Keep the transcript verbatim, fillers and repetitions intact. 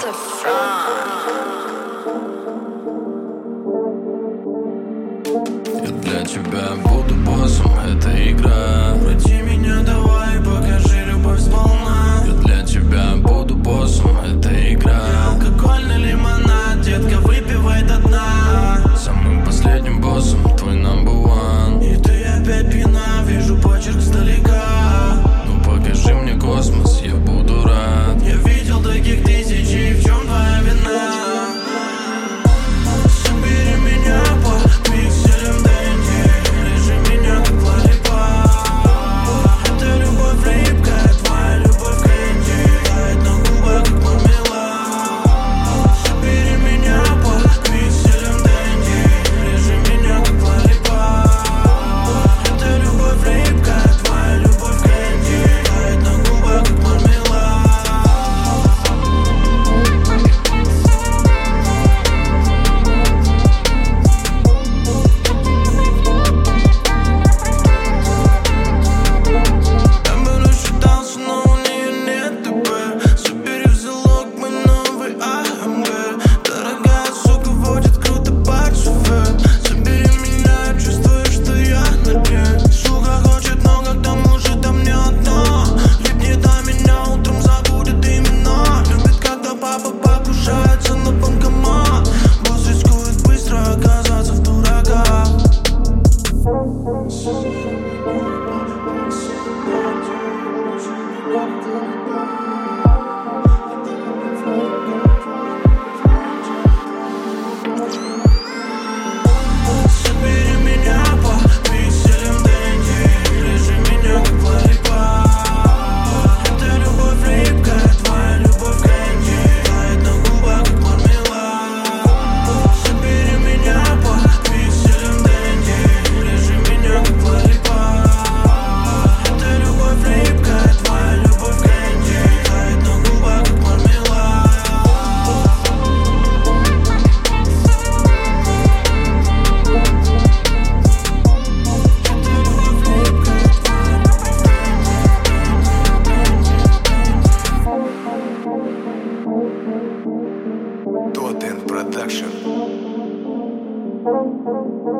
Я для тебя буду боссом, это игра. Пройди меня, давай, покажи любовь сполна. Я для тебя буду боссом, это игра. Алкогольный лимонад, детка, выпивай до дна. Самым последним боссом, твой number one. И ты опять пьяна, вижу почерк сдалека. Ну покажи мне космос, я буду рад. Я видел таких тысяч, и в чем твоя вина? Собери меня по пикселям Дэнди, лежи меня как лолипоп. Это любовь липкая, твоя любовь кэнди, тает на губах как мармелад. Собери меня по пикселям Дэнди, лежи меня как лолипоп. Это любовь липкая, твоя любовь кэнди, тает на губах как мармелад. Я бы рассчитался, но у нее нет ТП. Собери в залог мой новый АМГ. Дорогая сука водит круто под шофер. Собери меня, я чувствую, что я на дне. Сука хочет, но как к тому же там не одно. Липнет на меня, утром забудет имена. Любит, когда папа покушается на банкомат. Босс рискует быстро оказаться в дураках. Собери меня по пикселям Дэнди, лежи меня как лолипоп. Это любовь липкая, твоя любовь кэнди, тает на губах как мармелад. Собери меня по пикселям Дэнди, лежи меня как лолипоп. Это любовь липкая, твоя любовь кэнди, тает на губах как мармелад. Totten Production.